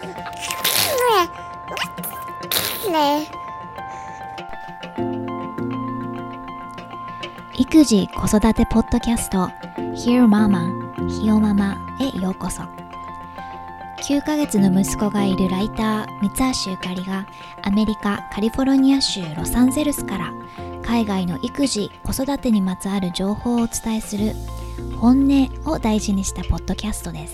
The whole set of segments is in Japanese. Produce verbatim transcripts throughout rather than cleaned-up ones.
育児子育てポッドキャスト Hear Mama ひよママへようこそ。きゅうかげつの息子がいるライター三橋ゆかりがアメリカカリフォルニア州ロサンゼルスから海外の育児子育てにまつわる情報をお伝えする本音を大事にしたポッドキャストです。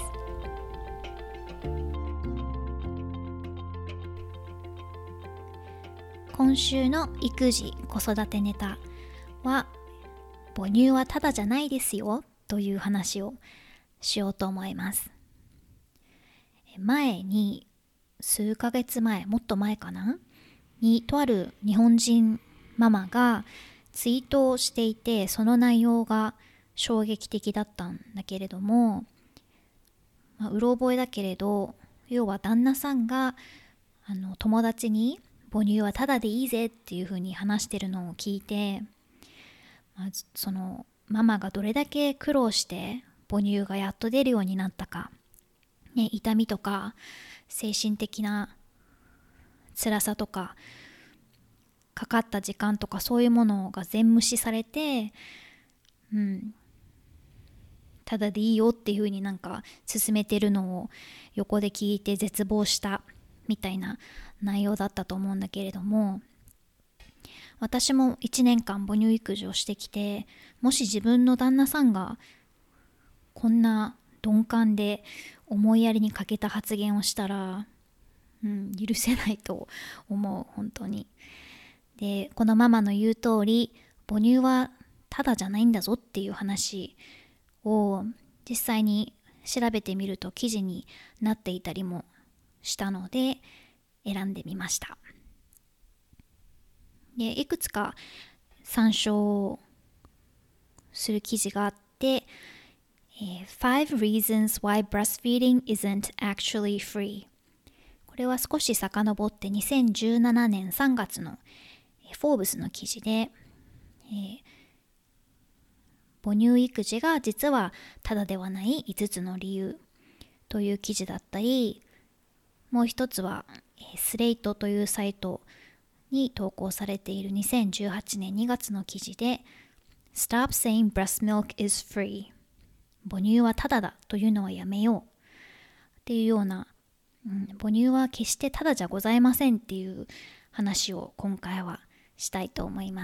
今週の育児子育てネタは、母乳はただじゃないですよという話をしようと思います。前に数ヶ月前、もっと前かなに、とある日本人ママがツイートをしていて、その内容が衝撃的だったんだけれども、まあ、うろ覚えだけれど、要は旦那さんがあの友達に母乳はタダでいいぜっていう風に話してるのを聞いて、まあ、そのママがどれだけ苦労して母乳がやっと出るようになったか、ね、痛みとか精神的な辛さとかかかった時間とかそういうものが全無視されて、うん、ただでいいよっていう風になんか勧めてるのを横で聞いて絶望したみたいな内容だったと思うんだけれども、私もいちねんかん母乳育児をしてきて、もし自分の旦那さんがこんな鈍感で思いやりに欠けた発言をしたら、うん、許せないと思う、本当に。で、このママの言う通り、母乳はただじゃないんだぞっていう話を実際に調べてみると記事になっていたりもしたので選んでみました。で、いくつか参照する記事があって、Five reasons why breastfeeding isn't actually free。 これは少し遡ってにせんじゅうななねんさんがつのフォーブスの記事で、えー、母乳育児が実はただではないいつつの理由という記事だったり、もう一つはスレイトというサイトに投稿されているにせんじゅうはちねんにがつの記事で Stop saying breast milk is free。 母乳はただだというのはやめようっていうような、うん、母乳は決してただじゃございませんっていう話を今回はしたいと思います。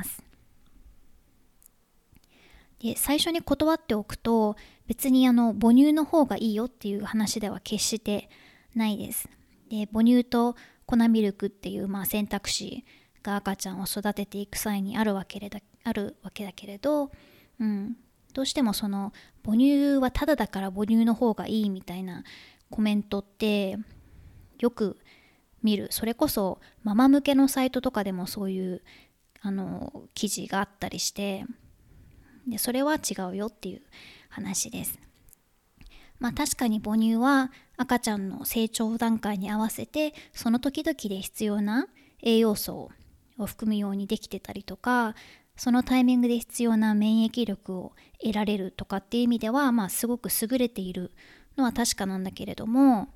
で、最初に断っておくと、別にあの母乳の方がいいよっていう話では決してないです。で、母乳と粉ミルクっていう、まあ、選択肢が赤ちゃんを育てていく際にあるわけだ、あるわけだけれど、うん、どうしてもその母乳はただだから母乳の方がいいみたいなコメントってよく見る。それこそママ向けのサイトとかでもそういうあの記事があったりして、でそれは違うよっていう話です。まあ確かに母乳は赤ちゃんの成長段階に合わせてその時々で必要な栄養素を含むようにできてたりとか、そのタイミングで必要な免疫力を得られるとかっていう意味では、まあすごく優れているのは確かなんだけれども、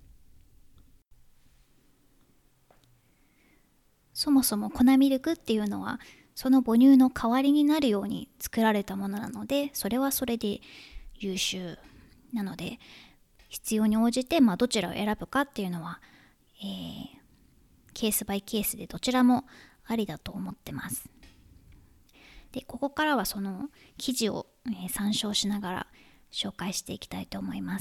そもそも粉ミルクっていうのはその母乳の代わりになるように作られたものなので、それはそれで優秀なので、必要に応じて、まあ、どちらを選ぶかっていうのは、えー、ケースバイケースでどちらもありだと思ってます。で、ここからはその記事を、えー、参照しながら紹介していきたいと思います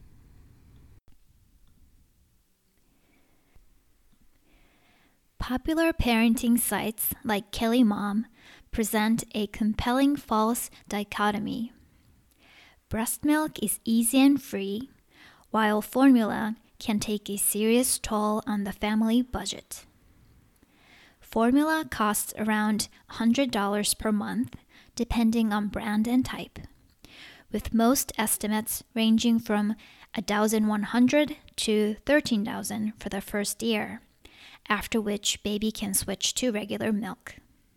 。Popular parenting sites like Kelly Mom present a compelling false dichotomy. Breast milk is easy and free, while formula can take a serious toll on the family budget. Formula costs around one hundred dollars per month, depending on brand and type, with most estimates ranging from one thousand one hundred dollars to thirteen thousand dollars for the first year, after which baby can switch to regular milk.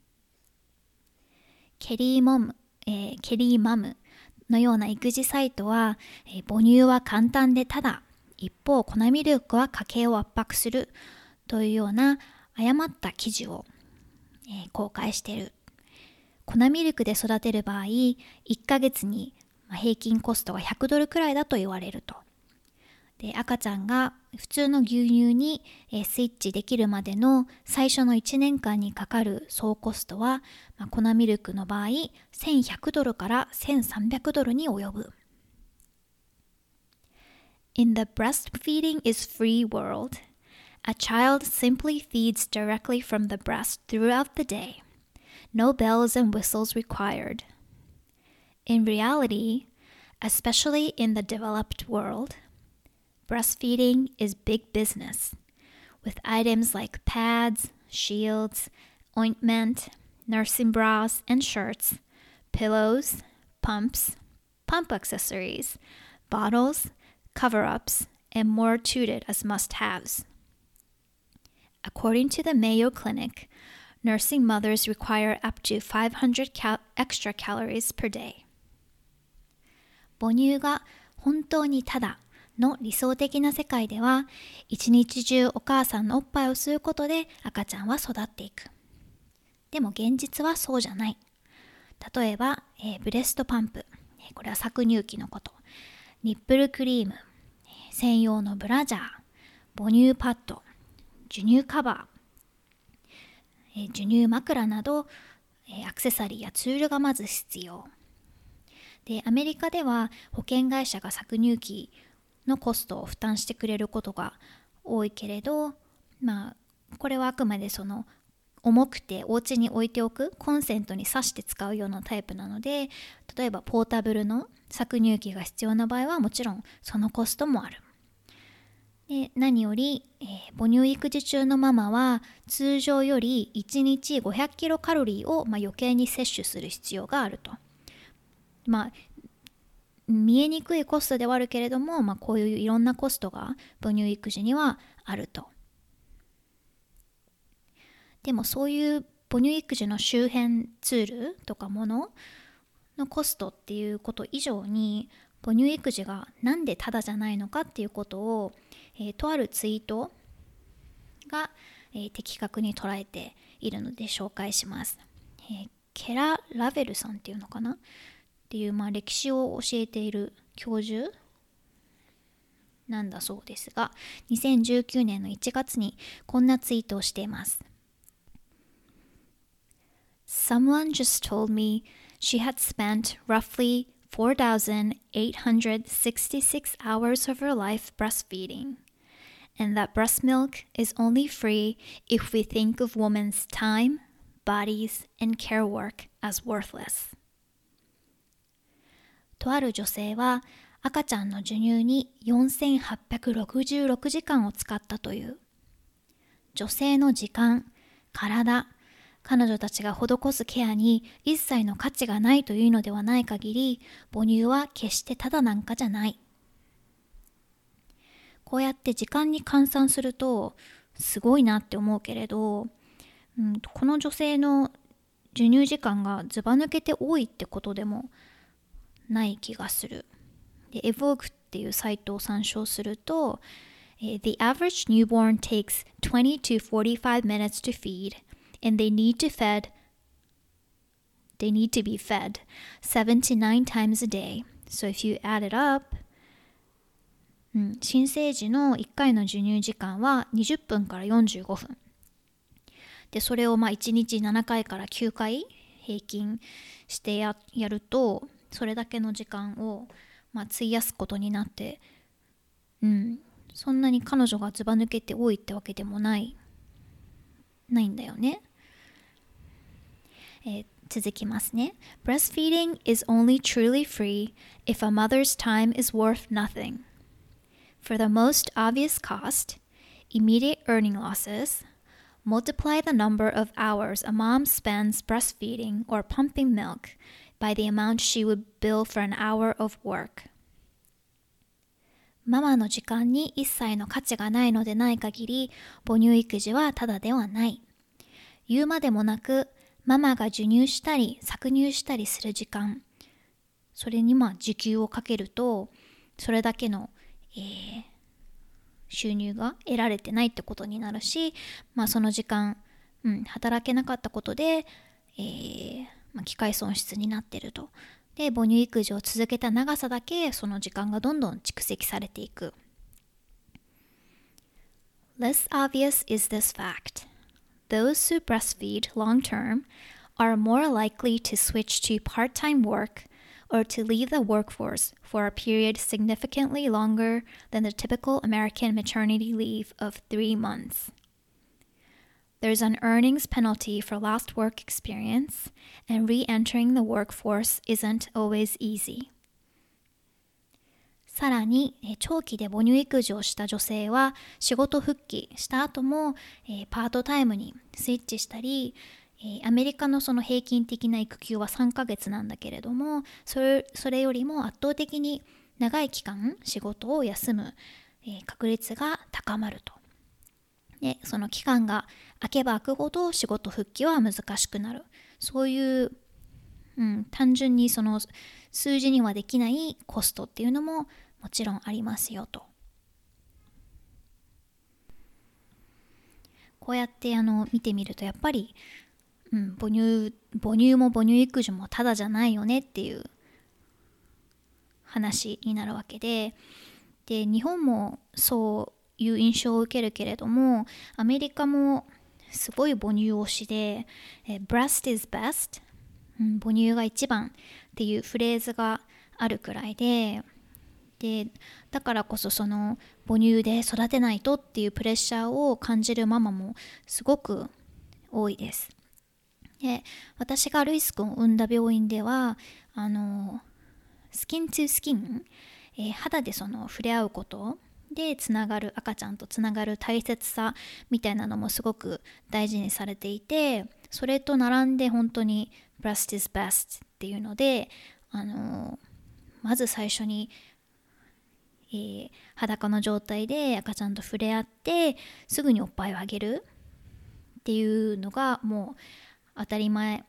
ケリーモム、えー、ケリーマムのような育児サイトは、えー、母乳は簡単でただ一方粉ミルクは家計を圧迫するというような誤った記事を、えー、公開している。粉ミルクで育てる場合、いっかげつに平均コストがひゃくドルくらいだと言われると。で、赤ちゃんが普通の牛乳にスイッチできるまでの最初のいちねんかんにかかる総コストは、まあ、粉ミルクの場合せんひゃくドルからせんさんびゃくドルに及ぶ。In the breastfeeding is free world, a child simply feeds directly from the breast throughout the day. No bells and whistles required. In reality, especially in the developed world, breastfeeding is big business, with items like pads, shields, ointment, nursing bras and shirts, pillows, pumps, pump accessories, bottles, cover-ups, and more touted as must-haves. According to the Mayo Clinic, nursing mothers require up to five hundred cal- extra calories per day. 母乳が本当にただの理想的な世界では、一日中お母さんのおっぱいを吸うことで赤ちゃんは育っていく。でも現実はそうじゃない。例えば、えー、ブレストパンプ、これは搾乳機のこと。ニップルクリーム、専用のブラジャー、母乳パッド、授乳カバー、授乳枕などアクセサリーやツールがまず必要で、アメリカでは保険会社が搾乳機のコストを負担してくれることが多いけれど、まあこれはあくまでその重くてお家に置いておくコンセントに挿して使うようなタイプなので、例えばポータブルの搾乳機が必要な場合はもちろんそのコストもある。で、何より、えー、母乳育児中のママは通常よりいちにちごひゃくキロカロリーを、まあ、余計に摂取する必要があると。まあ見えにくいコストではあるけれども、まあ、こういういろんなコストが母乳育児にはあると。でもそういう母乳育児の周辺ツールとかもののコストっていうこと以上に、母乳育児がなんでただじゃないのかっていうことを、えー、とあるツイートが、えー、的確に捉えているので紹介します。えー、ケラ・ラベルさんっていうのかなっていう、まあ、歴史を教えている教授なんだそうですが、にせんじゅうきゅうねんのいちがつにこんなツイートをしています。Someone just told me she had spent roughly four thousand eight hundred sixty-six hours of her life breastfeeding, and that breast milk is only free if we think of women's time, bodies, and care work as worthless. とある女性は赤ちゃんの授乳によんせんはっぴゃくろくじゅうろくじかんを使ったという。女性の時間、体、彼女たちが施すケアに一切の価値がないというのではない限り、母乳は決してただなんかじゃない。こうやって時間に換算するとすごいなって思うけれど、うん、この女性の授乳時間がずば抜けて多いってことでもない気がする。で、Evoke っていうサイトを参照すると、The average newborn takes twenty to forty-five minutes to feed.And they need to fed they need to be fed seven to nine times a day. So if you add it up、うん、新生児のいっかいの授乳時間はにじゅっぷんからよんじゅうごふん。で、それをまあいちにちななかいからきゅうかい平均してや、やると、それだけの時間をまあ費やすことになって、うん、そんなに彼女がずば抜けて多いってわけでもない、ないんだよね。えー、続きますね。Breastfeeding is only truly free if a mother's time is worth nothing. For the most obvious cost, immediate earning losses, multiply the number of hours a mom spends breastfeeding or pumping milk by the amount she would bill for an hour of work. ママの時間に一切の価値がないのでない限り、母乳育児はただではない。言うまでもなく、ママが授乳したり搾乳したりする時間、それにまあ時給をかけると、それだけの、えー、 収入が得られてないってことになるし、まあ、その時間、うん、働けなかったことで、えーまあ、機会損失になってると。で、母乳育児を続けた長さだけその時間がどんどん蓄積されていく。Less obvious is this fact. Those who breastfeed long term are more likely to switch to part-time work or to leave the workforce for a period significantly longer than the typical American maternity leave of three months. There's an earnings penalty for lost work experience, and re-entering the workforce isn't always easy. さらに、長期で母乳育児をした女性は仕事復帰した後も、えー、パートタイムにスイッチしたり、アメリカのその平均的な育休はさんかげつなんだけれども、それ、それよりも圧倒的に長い期間仕事を休む、えー、確率が高まると。で、その期間が空けば空くほど仕事復帰は難しくなる。そういう、うん、単純にその数字にはできないコストっていうのももちろんありますよと。こうやってあの見てみるとやっぱりうん、母乳、母乳も母乳育児もただじゃないよねっていう話になるわけで、で、日本もそういう印象を受けるけれども、アメリカもすごい母乳推しで、え breast is best、うん、母乳が一番っていうフレーズがあるくらいで、で、だからこそその母乳で育てないとっていうプレッシャーを感じるママもすごく多いです。で、私がルイス君を産んだ病院ではあのスキントゥスキン、えー、肌でその触れ合うことでつながる赤ちゃんとつながる大切さみたいなのもすごく大事にされていて、それと並んで本当に breast is best っていうので、あのまず最初に、えー、裸の状態で赤ちゃんと触れ合ってすぐにおっぱいをあげるっていうのがもう当たり前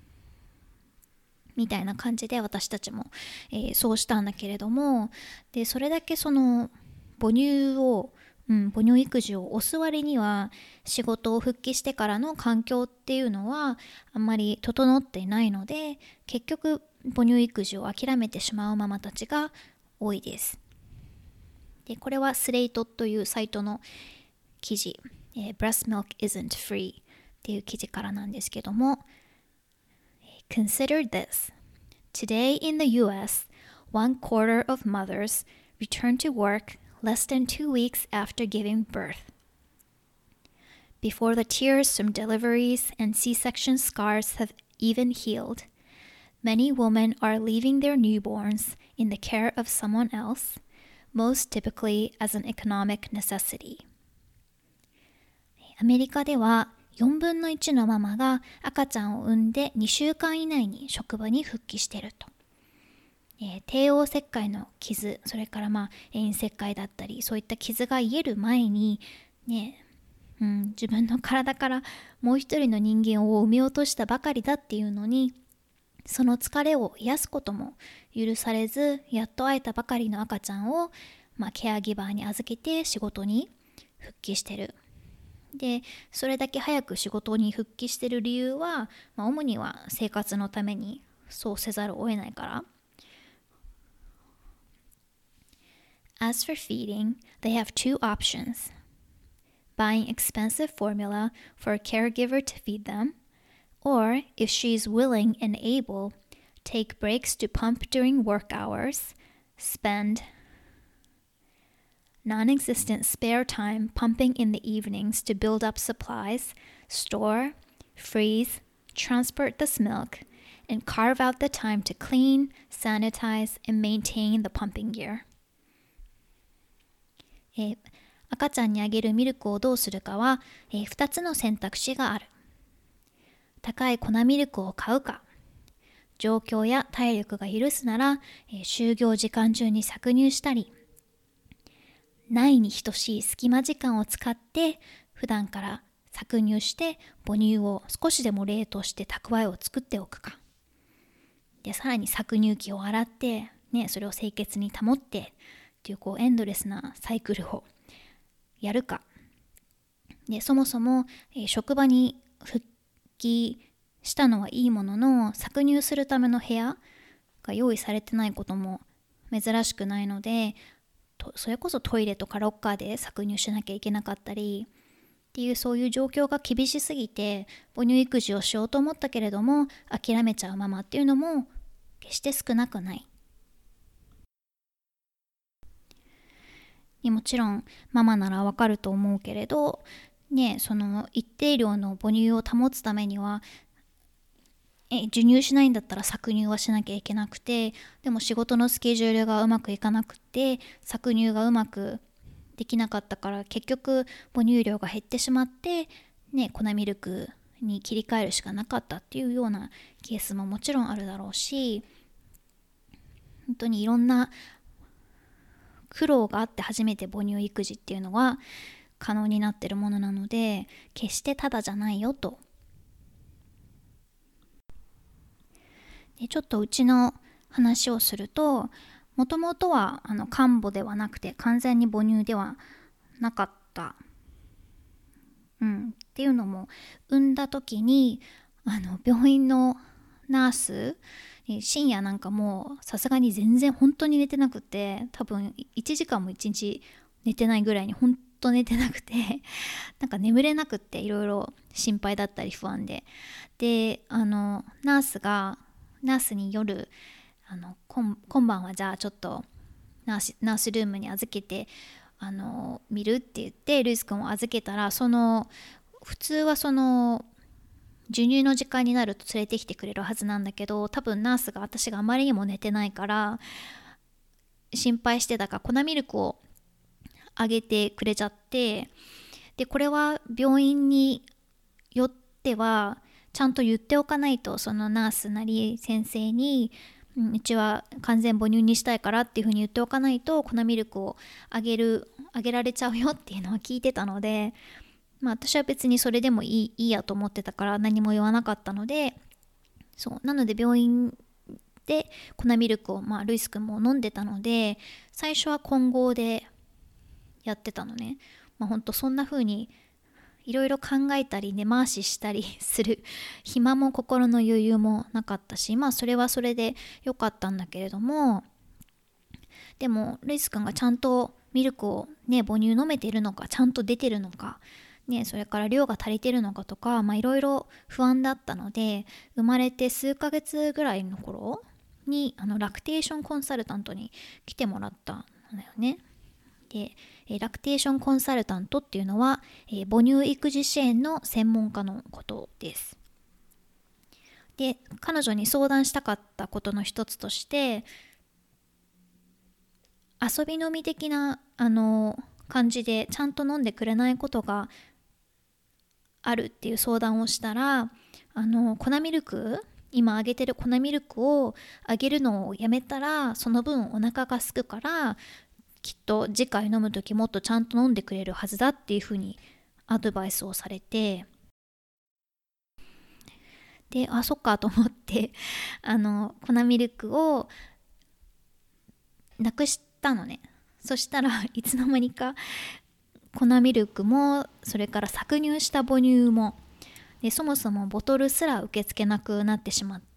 みたいな感じで私たちも、えー、そうしたんだけれども、でそれだけその母乳を、うん、母乳育児を推す割には仕事を復帰してからの環境っていうのはあんまり整っていないので、結局母乳育児を諦めてしまうママたちが多いです。でこれはスレイトというサイトの記事、えー、Breast Milk Isn't Freeっていう記事からなんですけども、Consider this. Today in the U S, one quarter of mothers return to work less than two weeks after giving birth. Before the tears from deliveries and C-section scars have even healed, many women are leaving their newborns in the care of someone else, most typically as an economic necessity. アメリカではよんぶんのいちのママが赤ちゃんを産んでにしゅうかん以内に職場に復帰していると。えー、帝王切開の傷、それからまあ遠切開だったり、そういった傷が癒える前に、ね、うん、自分の体からもう一人の人間を産み落としたばかりだっていうのに、その疲れを癒すことも許されず、やっと会えたばかりの赤ちゃんを、まあ、ケアギバーに預けて仕事に復帰してる。でそれだけ早く仕事に復帰している理由は、まあ、主には生活のためにそうせざるを得ないから。As for feeding, they have two options. Buying expensive formula for a caregiver to feed them, or if she's willing and able, take breaks to pump during work hours, spend non-existent spare time pumping in the evenings to build up supplies, store, freeze, transport this milk, and carve out the time to clean, sanitize, and maintain the pumping gear. えー、赤ちゃんにあげるミルクをどうするかは、えー、ふたつの選択肢がある。高い粉ミルクを買うか、状況や体力が許すなら、えー、就業時間中に搾乳したり、ないに等しい隙間時間を使って普段から搾乳して母乳を少しでも冷凍して蓄えを作っておくか。でさらに搾乳機を洗って、ね、それを清潔に保ってっていう、こうエンドレスなサイクルをやるか。でそもそも、えー職場に復帰したのはいいものの、搾乳するための部屋が用意されてないことも珍しくないので、とそれこそトイレとかロッカーで搾乳しなきゃいけなかったりっていう、そういう状況が厳しすぎて母乳育児をしようと思ったけれども諦めちゃうママっていうのも決して少なくない。もちろんママならわかると思うけれどね、その一定量の母乳を保つためにはえ授乳しないんだったら搾乳はしなきゃいけなくて、でも仕事のスケジュールがうまくいかなくて搾乳がうまくできなかったから、結局母乳量が減ってしまってね、粉ミルクに切り替えるしかなかったっていうようなケースももちろんあるだろうし、本当にいろんな苦労があって初めて母乳育児っていうのは可能になってるものなので、決してただじゃないよと。でちょっとうちの話をすると、もともとはあの看母ではなくて完全に母乳ではなかった、うん、っていうのも、産んだ時にあの病院のナース深夜なんかもうさすがに全然本当に寝てなくて、多分いちじかんもいちにち寝てないぐらいに本当寝てなくてなんか眠れなくって、いろいろ心配だったり不安で、であのナースがナースに夜あの今今晩はじゃあちょっとナース、ナースルームに預けてあの見るって言ってルイス君を預けたら、その普通はその授乳の時間になると連れてきてくれるはずなんだけど、多分ナースが私があまりにも寝てないから心配してたから粉ミルクをあげてくれちゃって、でこれは病院によってはちゃんと言っておかないと、そのナースなり先生に、うん、うちは完全母乳にしたいからっていうふうに言っておかないと粉ミルクをあげるあげられちゃうよっていうのは聞いてたので、まあ私は別にそれでもいい、いいやと思ってたから何も言わなかったので、そうなので病院で粉ミルクを、まあ、ルイス君も飲んでたので、最初は混合でやってたのね。まあほんとそんな風にいろいろ考えたり根回ししたりする暇も心の余裕もなかったし、まあそれはそれで良かったんだけれども、でもルイス君がちゃんとミルクをね母乳飲めてるのか、ちゃんと出てるのかね、それから量が足りてるのかとか、まあいろいろ不安だったので、生まれて数ヶ月ぐらいの頃にあのラクテーションコンサルタントに来てもらったんだよね。でラクテーションコンサルタントっていうのは、えー、母乳育児支援の専門家のことです。で彼女に相談したかったことの一つとして、遊び飲み的なあの感じでちゃんと飲んでくれないことがあるっていう相談をしたら、あの粉ミルク今あげてる粉ミルクをあげるのをやめたらその分お腹が空くからきっと次回飲む時もっとちゃんと飲んでくれるはずだっていうふうにアドバイスをされて、であそっかと思ってあの粉ミルクをなくしたのね。そしたらいつの間にか粉ミルクもそれから搾乳した母乳もでそもそもボトルすら受け付けなくなってしまって、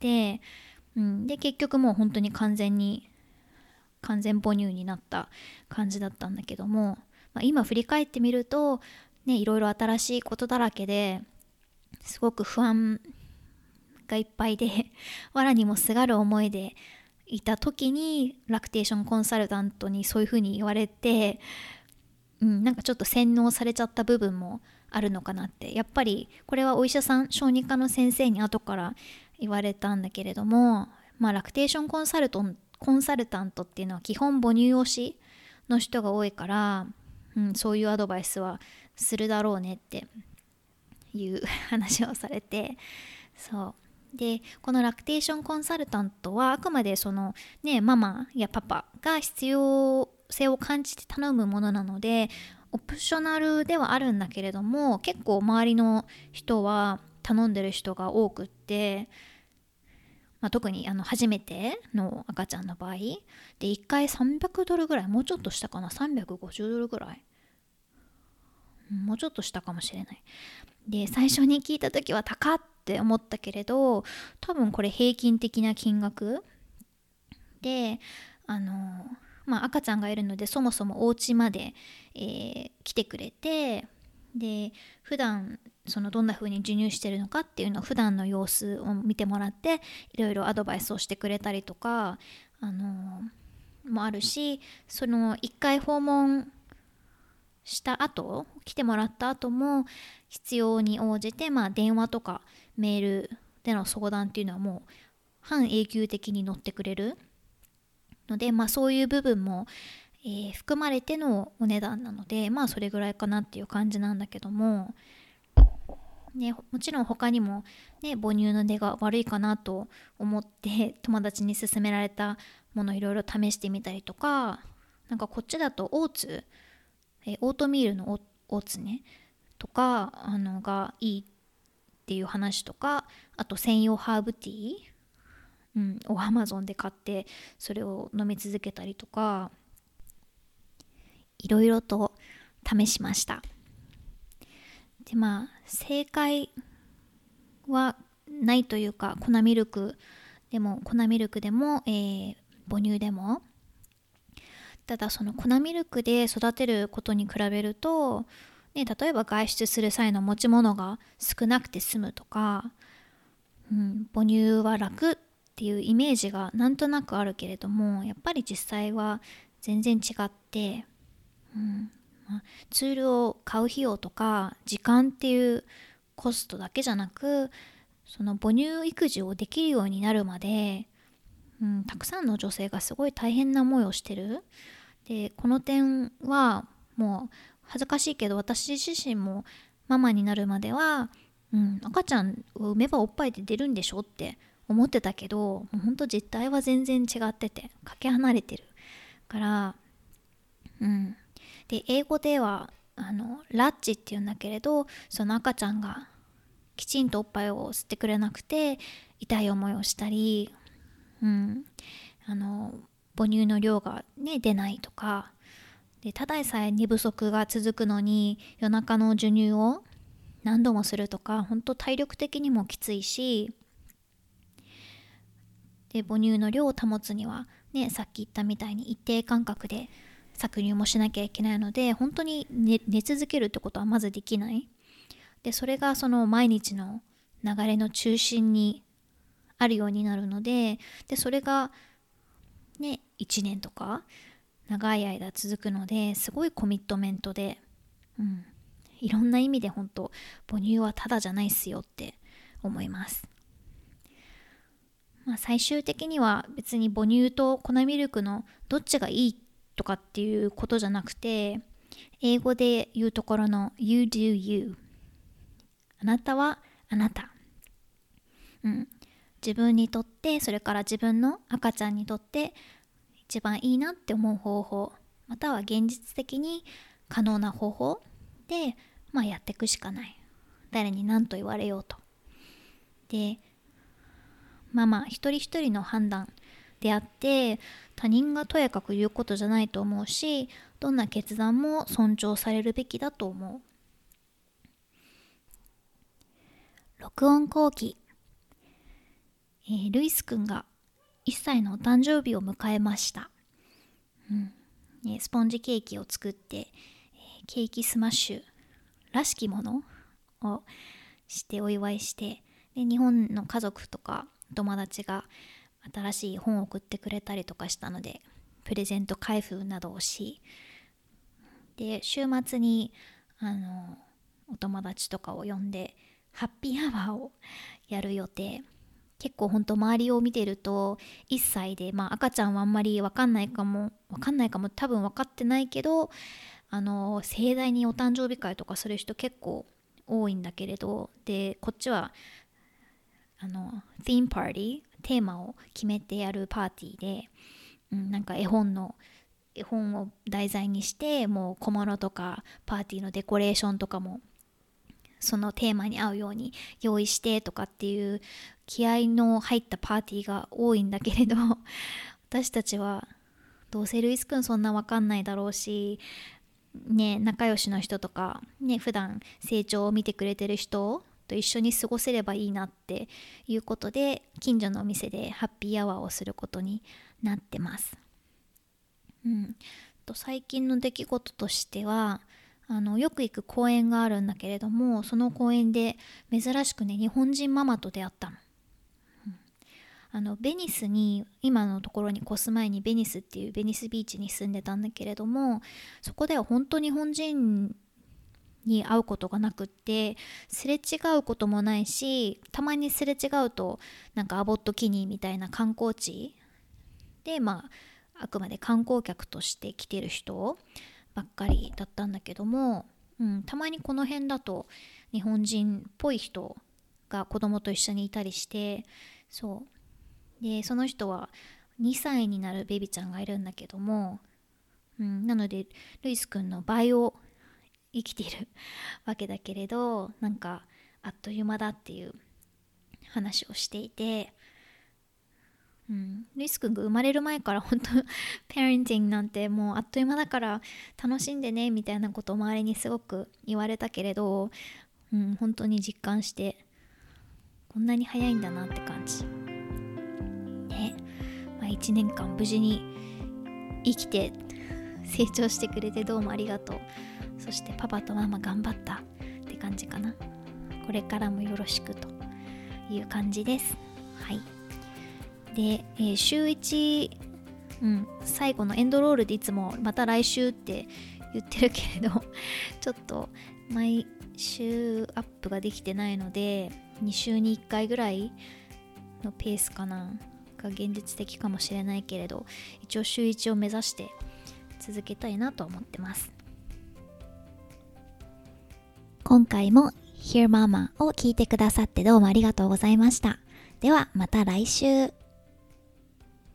うん、で結局もう本当に完全に完全母乳になった感じだったんだけども、まあ、今振り返ってみるとね、いろいろ新しいことだらけですごく不安がいっぱいで藁にもすがる思いでいた時にラクテーションコンサルタントにそういうふうに言われて、うん、なんかちょっと洗脳されちゃった部分もあるのかなって。やっぱりこれはお医者さん小児科の先生に後から言われたんだけれども、まあラクテーションコンサルトンコンサルタントっていうのは基本母乳推しの人が多いから、うん、そういうアドバイスはするだろうねっていう話をされて、そうでこのラクテーションコンサルタントはあくまでそのねママやパパが必要性を感じて頼むものなのでオプショナルではあるんだけれども、結構周りの人は頼んでる人が多くって、まあ、特にあの初めての赤ちゃんの場合でいっかいさんびゃくドルぐらい、もうちょっとしたかな、さんびゃくごじゅうドルぐらいもうちょっとしたかもしれない。で最初に聞いた時は高って思ったけれど、多分これ平均的な金額で、あのまあ赤ちゃんがいるのでそもそもお家まで、えー来てくれて、で普段そのどんな風に授乳してるのかっていうのを普段の様子を見てもらっていろいろアドバイスをしてくれたりとか、あのもあるし、そのいっかい訪問した後、来てもらった後も必要に応じて、まあ、電話とかメールでの相談っていうのはもう半永久的に乗ってくれるので、まあ、そういう部分も、えー含まれてのお値段なので、まあそれぐらいかなっていう感じなんだけども、ね、もちろん他にも、ね、母乳の出が悪いかなと思って友達に勧められたものいろいろ試してみたりとか、なんかこっちだとオーツ、えーオートミールのオオーツねとかあのがいいっていう話とか、あと専用ハーブティー、うん、をアマゾンで買ってそれを飲み続けたりとか、いろいろと試しました。でまあ正解はないというか、粉ミルクでも粉ミルクでも、えー母乳でも、ただその粉ミルクで育てることに比べると、ね、例えば外出する際の持ち物が少なくて済むとか、うん、母乳は楽っていうイメージがなんとなくあるけれども、やっぱり実際は全然違って、うんまあ、ツールを買う費用とか時間っていうコストだけじゃなく、その母乳育児をできるようになるまで、うん、たくさんの女性がすごい大変な思いをしてる。でこの点はもう恥ずかしいけど、私自身もママになるまでは、うん、赤ちゃんを産めばおっぱいで出るんでしょって思ってたけど、もうほんと実態は全然違っててかけ離れてるから、うん、で英語ではあのラッチっていうんだけれど、その赤ちゃんがきちんとおっぱいを吸ってくれなくて痛い思いをしたり、うん、あの母乳の量が、ね、出ないとかで、ただでさえ寝不足が続くのに夜中の授乳を何度もするとか、本当体力的にもきついし、で母乳の量を保つには、ね、さっき言ったみたいに一定間隔で搾乳もしなきゃいけないので、本当に 寝, 寝続けるってことはまずできない。でそれがその毎日の流れの中心にあるようになるので、でそれがねいちねんとか長い間続くので、すごいコミットメントで、うん、いろんな意味で本当母乳はただじゃないっすよって思います。まあ、最終的には別に母乳と粉ミルクのどっちがいいとかっていうことじゃなくて、英語で言うところの You do you、 あなたはあなた、うん、自分にとって、それから自分の赤ちゃんにとって一番いいなって思う方法、または現実的に可能な方法で、まあ、やっていくしかない。誰に何と言われようと。でママ一人一人の判断であって、他人がとやかく言うことじゃないと思うし、どんな決断も尊重されるべきだと思う。録音後期、えー、ルイスくんがいっさいのお誕生日を迎えました。うんね、スポンジケーキを作って、えーケーキスマッシュらしきものをしてお祝いして、で日本の家族とか友達が新しい本を送ってくれたりとかしたので、プレゼント開封などをし、で週末にあのお友達とかを呼んでハッピーアワーをやる予定。結構ほんと周りを見てるといっさいで、まあ赤ちゃんはあんまり分かんないかも分かんないかも多分分かってないけど、あの盛大にお誕生日会とかする人結構多いんだけれど、でこっちはあのティームパーティー、テーマを決めてやるパーティーで、うん、なんか絵本の絵本を題材にして、もう小物とかパーティーのデコレーションとかもそのテーマに合うように用意してとかっていう気合の入ったパーティーが多いんだけれど、私たちはどうせルイスくんそんなわかんないだろうし、 ね、仲良しの人とか、ね、普段成長を見てくれてる人と一緒に過ごせればいいなっていうことで、近所のお店でハッピーアワーをすることになってます。うん、と最近の出来事としては、あのよく行く公園があるんだけれども、その公園で珍しくね、日本人ママと出会ったの。あのベニスに、今のところに越す前にベニスっていうベニスビーチに住んでたんだけれども、そこでは本当に日本人に会うことがなくって、すれ違うこともないし、たまにすれ違うとなんかアボットキニーみたいな観光地で、まああくまで観光客として来てる人ばっかりだったんだけども、うん、たまにこの辺だと日本人っぽい人が子供と一緒にいたりして、そうで、その人はにさいになるベビちゃんがいるんだけども、うん、なのでルイスくんの倍を生きているわけだけれど、なんかあっという間だっていう話をしていて、うん、ルイスくんが生まれる前から本当ペアレンティングなんてもうあっという間だから楽しんでねみたいなことを周りにすごく言われたけれど、うん、本当に実感してこんなに早いんだなって感じね。まあ、いちねんかん無事に生きて成長してくれてどうもありがとう。そしてパパとママ頑張ったって感じかな。これからもよろしくという感じです。はい。で、えー、週いち、うん、最後のエンドロールでいつもまた来週って言ってるけれどちょっと毎週アップができてないので、にしゅうにいっかいぐらいのペースかなが現実的かもしれないけれど、一応週いちを目指して続けたいなと思ってます。今回も Hear Mama を聞いてくださってどうもありがとうございました。ではまた来週。